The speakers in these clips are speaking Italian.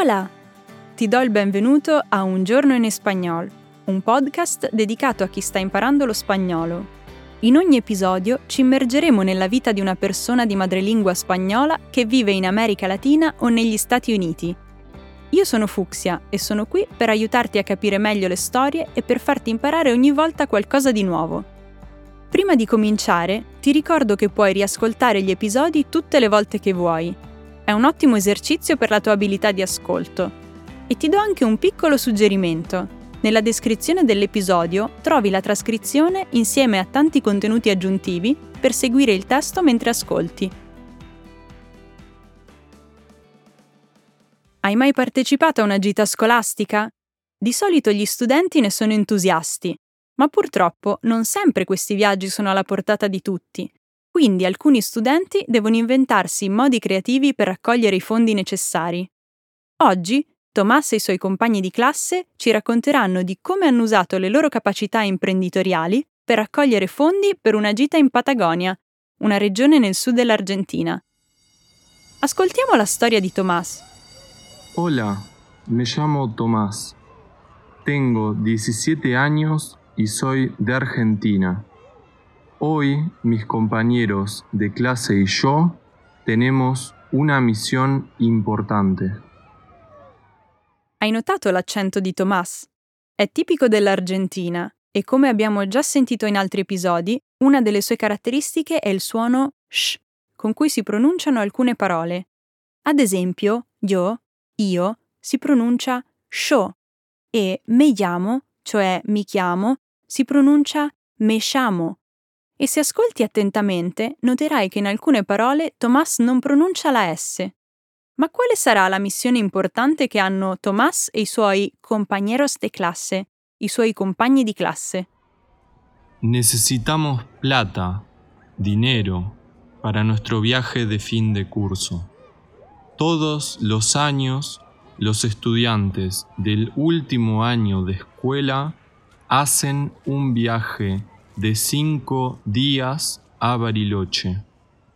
Hola! Ti do il benvenuto a Un giorno in espagnol, un podcast dedicato a chi sta imparando lo spagnolo. In ogni episodio ci immergeremo nella vita di una persona di madrelingua spagnola che vive in America Latina o negli Stati Uniti. Io sono Fucsia e sono qui per aiutarti a capire meglio le storie e per farti imparare ogni volta qualcosa di nuovo. Prima di cominciare, ti ricordo che puoi riascoltare gli episodi tutte le volte che vuoi. È un ottimo esercizio per la tua abilità di ascolto. E ti do anche un piccolo suggerimento. Nella descrizione dell'episodio trovi la trascrizione insieme a tanti contenuti aggiuntivi per seguire il testo mentre ascolti. Hai mai partecipato a una gita scolastica? Di solito gli studenti ne sono entusiasti, ma purtroppo non sempre questi viaggi sono alla portata di tutti. Quindi alcuni studenti devono inventarsi modi creativi per raccogliere i fondi necessari. Oggi Tomás e i suoi compagni di classe ci racconteranno di come hanno usato le loro capacità imprenditoriali per raccogliere fondi per una gita in Patagonia, una regione nel sud dell'Argentina. Ascoltiamo la storia di Tomás. Hola, me llamo Tomás. Tengo 17 años y soy de Argentina. Hoy mis compañeros de clase y yo tenemos una misión importante. Hai notato l'accento di Tomás? È tipico dell'Argentina e, come abbiamo già sentito in altri episodi, una delle sue caratteristiche è il suono sh, con cui si pronunciano alcune parole. Ad esempio, io, si pronuncia sho e me llamo, cioè mi chiamo, si pronuncia me llamo. E se ascolti attentamente, noterai che in alcune parole Tomás non pronuncia la S. Ma quale sarà la missione importante che hanno Tomás e i suoi compañeros de clase, i suoi compagni di classe? Necesitamos plata, dinero, para nuestro viaje de fin de curso. Todos los años, los estudiantes del último año de escuela hacen un viaje de 5 días a Bariloche.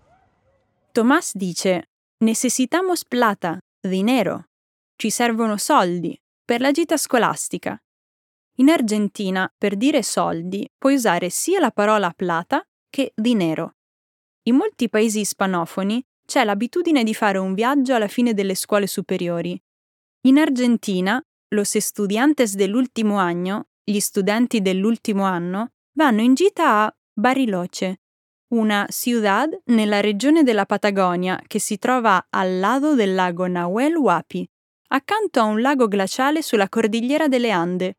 Tomás dice: Necesitamos plata, dinero. Ci servono soldi per la gita scolastica. In Argentina, per dire soldi, puoi usare sia la parola plata che dinero. In molti paesi ispanofoni c'è l'abitudine di fare un viaggio alla fine delle scuole superiori. In Argentina, los estudiantes dell'ultimo año, gli studenti dell'ultimo anno, vanno in gita a Bariloche, una ciudad nella regione della Patagonia che si trova al lato del lago Nahuel Huapi, accanto a un lago glaciale sulla cordigliera delle Ande.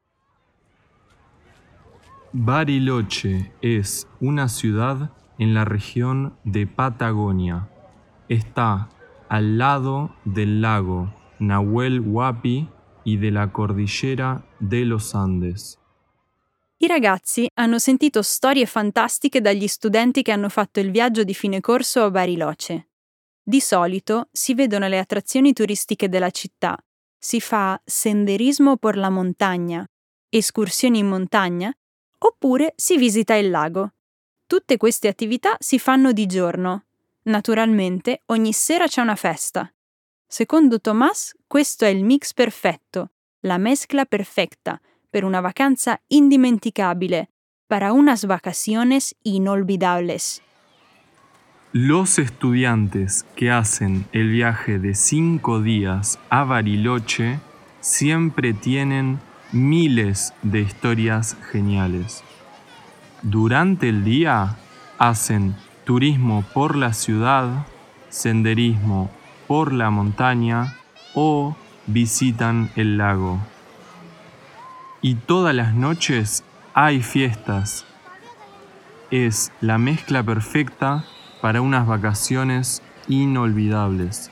Bariloche es una ciudad en la región de Patagonia. Está al lado del lago Nahuel Huapi y de la cordillera de los Andes. I ragazzi hanno sentito storie fantastiche dagli studenti che hanno fatto il viaggio di fine corso a Bariloche. Di solito si vedono le attrazioni turistiche della città, si fa senderismo por la montagna, escursioni in montagna, oppure si visita il lago. Tutte queste attività si fanno di giorno. Naturalmente, ogni sera c'è una festa. Secondo Tomás, questo è il mix perfetto, la mezcla perfecta, per una vacanza indimenticabile, para unas vacaciones inolvidables. Los estudiantes que hacen el viaje de 5 días a Bariloche siempre tienen miles de historias geniales. Durante el día hacen turismo por la ciudad, senderismo por la montaña o visitan el lago. Y todas las noches hay fiestas. Es la mezcla perfecta para unas vacaciones inolvidables.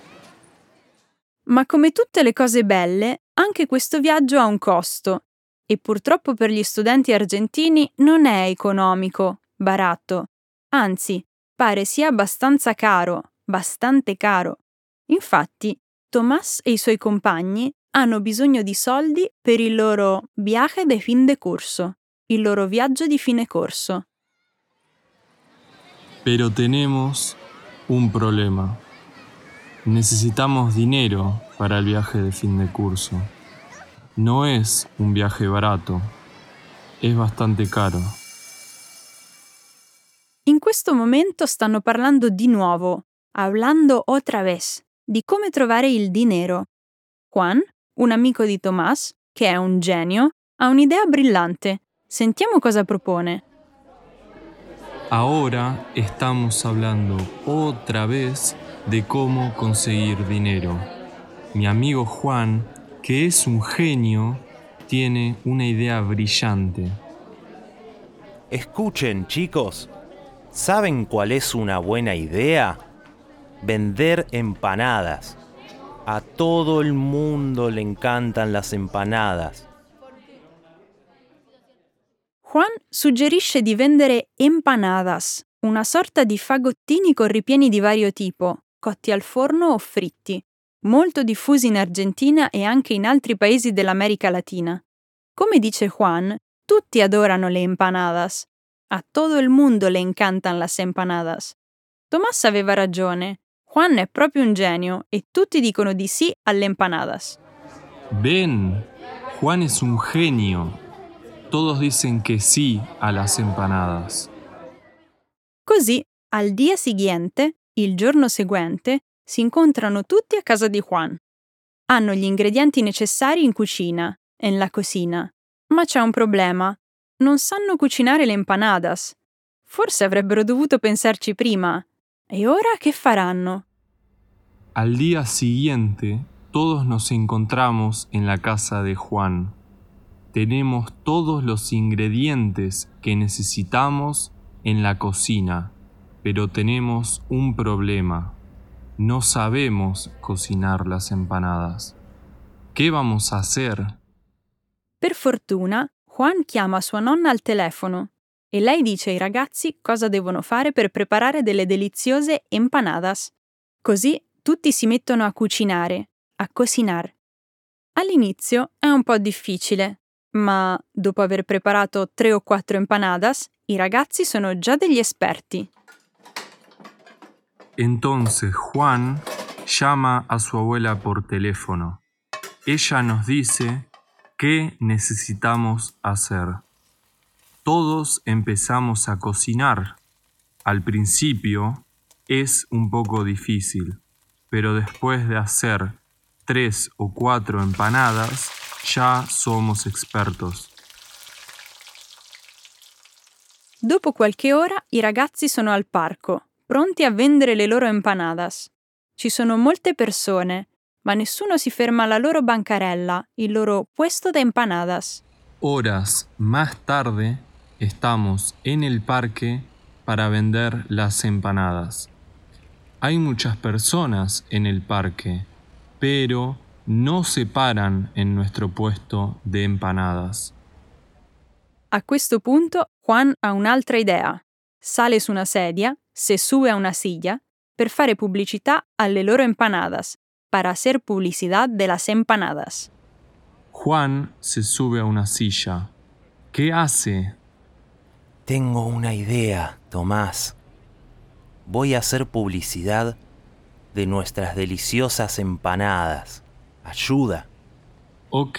Ma come tutte le cose belle, anche questo viaggio ha un costo. E purtroppo per gli studenti argentini non è economico, barato. Anzi, pare sia abbastanza caro, bastante caro. Infatti, Tomás e i suoi compagni hanno bisogno di soldi per il loro viaje de fin de curso, il loro viaggio di fine corso. Pero tenemos un problema. Necesitamos dinero para el viaje de fin de curso. No es un viaje barato, es bastante caro. In questo momento stanno parlando di nuovo, hablando otra vez, di come trovare il dinero. Juan, un amico di Tomás, che è un genio, ha un'idea brillante. Sentiamo cosa propone. Ahora estamos hablando otra vez de cómo conseguir dinero. Mi amigo Juan, que es un genio, tiene una idea brillante. Escuchen, chicos, ¿saben cuál es una buena idea? Vender empanadas. A todo el mundo le encantan las empanadas. Juan suggerisce di vendere empanadas, una sorta di fagottini con ripieni di vario tipo, cotti al forno o fritti, molto diffusi in Argentina e anche in altri paesi dell'America Latina. Come dice Juan, tutti adorano le empanadas. A todo el mundo le encantan las empanadas. Tomás aveva ragione. Juan è proprio un genio e tutti dicono di sì alle empanadas. Ven, Juan es un genio. Todos dicen que sí a las empanadas. Così, al dia siguiente, il giorno seguente, si incontrano tutti a casa di Juan. Hanno gli ingredienti necessari in cucina, en la cocina. Ma c'è un problema. Non sanno cucinare le empanadas. Forse avrebbero dovuto pensarci prima. E ora che faranno? Al día siguiente, todos nos encontramos en la casa de Juan. Tenemos todos los ingredientes que necesitamos en la cocina, pero tenemos un problema. No sabemos cocinar las empanadas. ¿Qué vamos a hacer? Per fortuna, Juan chiama sua nonna al telefono e lei dice ai ragazzi cosa devono fare per preparare delle deliziose empanadas. Così tutti si mettono a cucinare, a cocinar. All'inizio è un po' difficile, ma dopo aver preparato 3 o 4 empanadas, i ragazzi sono già degli esperti. Entonces Juan llama a su abuela por teléfono. Ella nos dice qué necesitamos hacer. Todos empezamos a cocinar. Al principio es un poco difícil, pero después de hacer 3 o 4 empanadas, ya somos expertos. Dopo qualche ora i ragazzi sono al parco, pronti a vendere le loro empanadas. Ci sono molte persone, ma nessuno si ferma alla loro bancarella, il loro puesto de empanadas. Horas más tarde, estamos en el parque para vender las empanadas. Hay muchas personas en el parque, pero no se paran en nuestro puesto de empanadas. A questo punto Juan ha un'altra idea. Sale su una sedia, se sube a una silla, per fare pubblicità alle loro empanadas, para hacer publicidad de las empanadas. Juan se sube a una silla. ¿Qué hace? Tengo una idea, Tomás. Voy a hacer publicidad de nuestras deliciosas empanadas. Ayuda. Ok.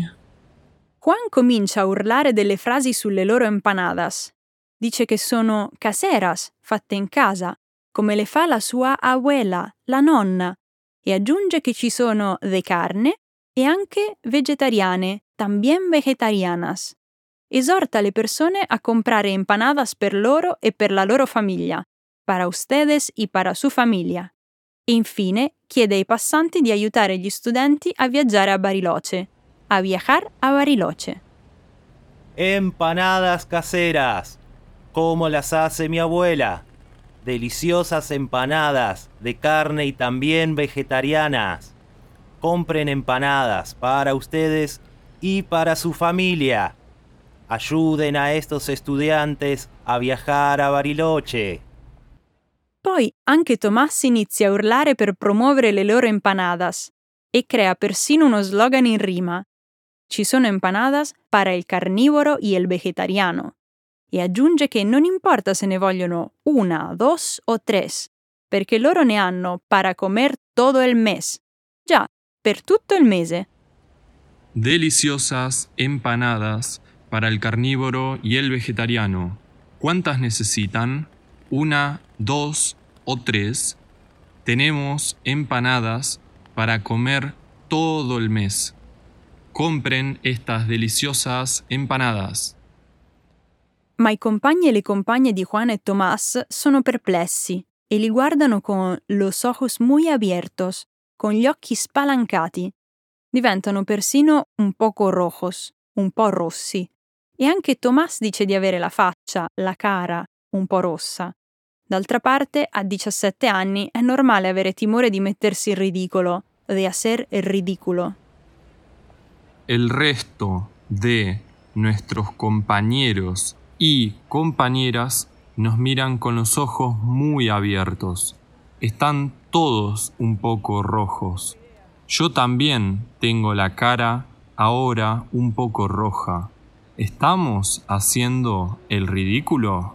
Juan comincia a urlare delle frasi sulle loro empanadas. Dice che sono caseras, fatte in casa, come le fa la sua abuela, la nonna, e aggiunge che ci sono de carne e anche vegetariane, también vegetarianas. Esorta le persone a comprare empanadas per loro e per la loro famiglia, para ustedes y para su familia. E infine chiede ai passanti di aiutare gli studenti a viaggiare a Bariloche, a viajar a Bariloche. Empanadas caseras, como las hace mi abuela. Deliciosas empanadas de carne y también vegetarianas. Compren empanadas para ustedes y para su familia. Ayuden a estos estudiantes a viajar a Bariloche. Poi anche Tomás inizia a urlare per promuovere le loro empanadas e crea persino uno slogan in rima. Ci sono empanadas para el carnívoro y el vegetariano. E aggiunge che non importa se ne vogliono 1, 2 o 3, perché loro ne hanno para comer todo el mes. Già, per tutto il mese. Deliciosas empanadas para el carnívoro y el vegetariano. ¿Cuántas necesitan? 1, 2 o 3. Tenemos empanadas para comer todo el mes. Compren estas deliciosas empanadas. Ma i compagni e le compagne di Juan e Tomás sono perplessi e li guardano con los ojos muy abiertos, con gli occhi spalancati. Diventano persino un poco rojos, un po' rossi. E anche Tomás dice di avere la faccia, la cara, un po' rossa. D'altra parte, a 17 anni è normale avere timore di mettersi in ridicolo, de hacer el ridículo. El resto de nuestros compañeros y compañeras nos miran con los ojos muy abiertos. Están todos un poco rojos. Yo también tengo la cara ahora un poco roja. ¿Estamos haciendo el ridículo?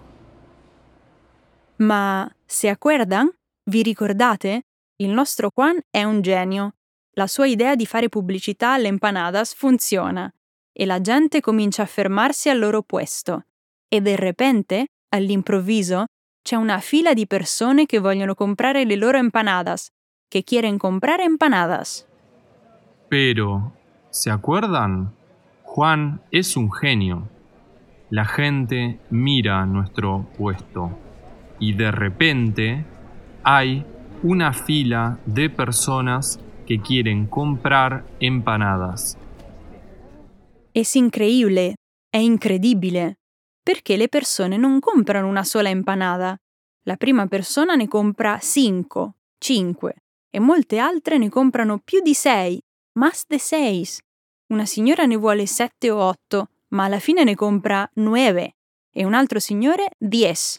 Ma se acuerdan? Vi ricordate? Il nostro Juan è un genio. La sua idea di fare pubblicità alle empanadas funziona e la gente comincia a fermarsi al loro puesto. E de repente, all'improvviso, c'è una fila di persone che vogliono comprare le loro empanadas, che quieren comprar empanadas. Pero, ¿se acuerdan? Juan es un genio. La gente mira nuestro puesto y de repente hay una fila de personas que quieren comprar empanadas. Es increíble, è incredibile, perché le persone non comprano una sola empanada. La prima persona ne compra 5, 5 e molte altre ne comprano più di 6, más de 6. Una signora ne vuole 7 o 8, ma alla fine ne compra 9 e un altro signore 10.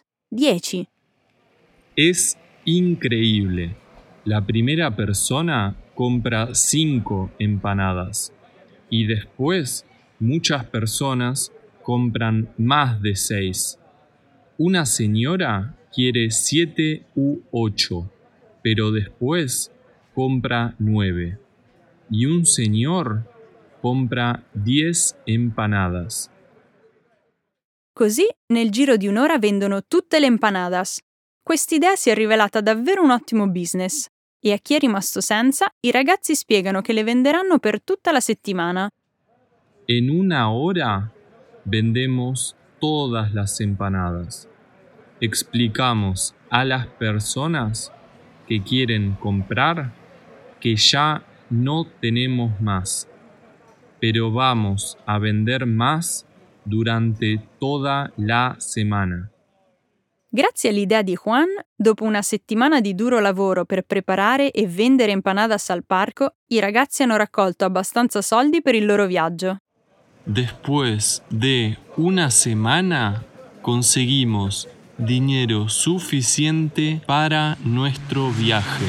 Es increíble. La primera persona compra 5 empanadas y después muchas personas compran más de 6. Una señora quiere 7 u 8, pero después compra 9. Y un señor compra 10 empanadas. Così, nel giro di un'ora vendono tutte le empanadas. Quest'idea si è rivelata davvero un ottimo business. E a chi è rimasto senza, i ragazzi spiegano che le venderanno per tutta la settimana. En una hora vendemos todas las empanadas. Explicamos a las personas que quieren comprar que ya no tenemos más, pero vamos a vender más durante toda la semana. Grazie all'idea di Juan, dopo una settimana di duro lavoro per preparare e vendere empanadas al parco, i ragazzi hanno raccolto abbastanza soldi per il loro viaggio. Después de una semana conseguimos dinero suficiente para nuestro viaje.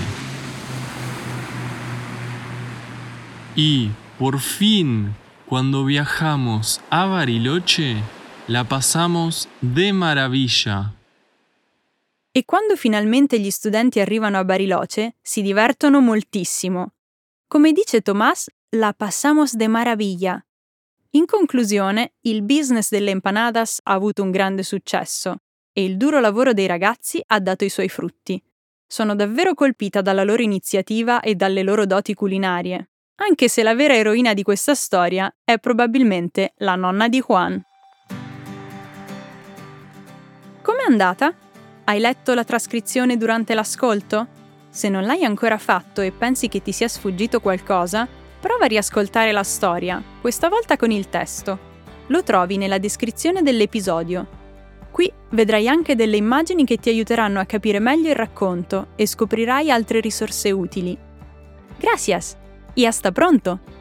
Y por fin, cuando viajamos a Bariloche, la pasamos de maravilla. E quando finalmente gli studenti arrivano a Bariloche, si divertono moltissimo. Come dice Tomás, la pasamos de maravilla. In conclusione, il business delle empanadas ha avuto un grande successo e il duro lavoro dei ragazzi ha dato i suoi frutti. Sono davvero colpita dalla loro iniziativa e dalle loro doti culinarie, anche se la vera eroina di questa storia è probabilmente la nonna di Juan. Com'è andata? Hai letto la trascrizione durante l'ascolto? Se non l'hai ancora fatto e pensi che ti sia sfuggito qualcosa, prova a riascoltare la storia, questa volta con il testo. Lo trovi nella descrizione dell'episodio. Qui vedrai anche delle immagini che ti aiuteranno a capire meglio il racconto e scoprirai altre risorse utili. Gracias! E hasta pronto!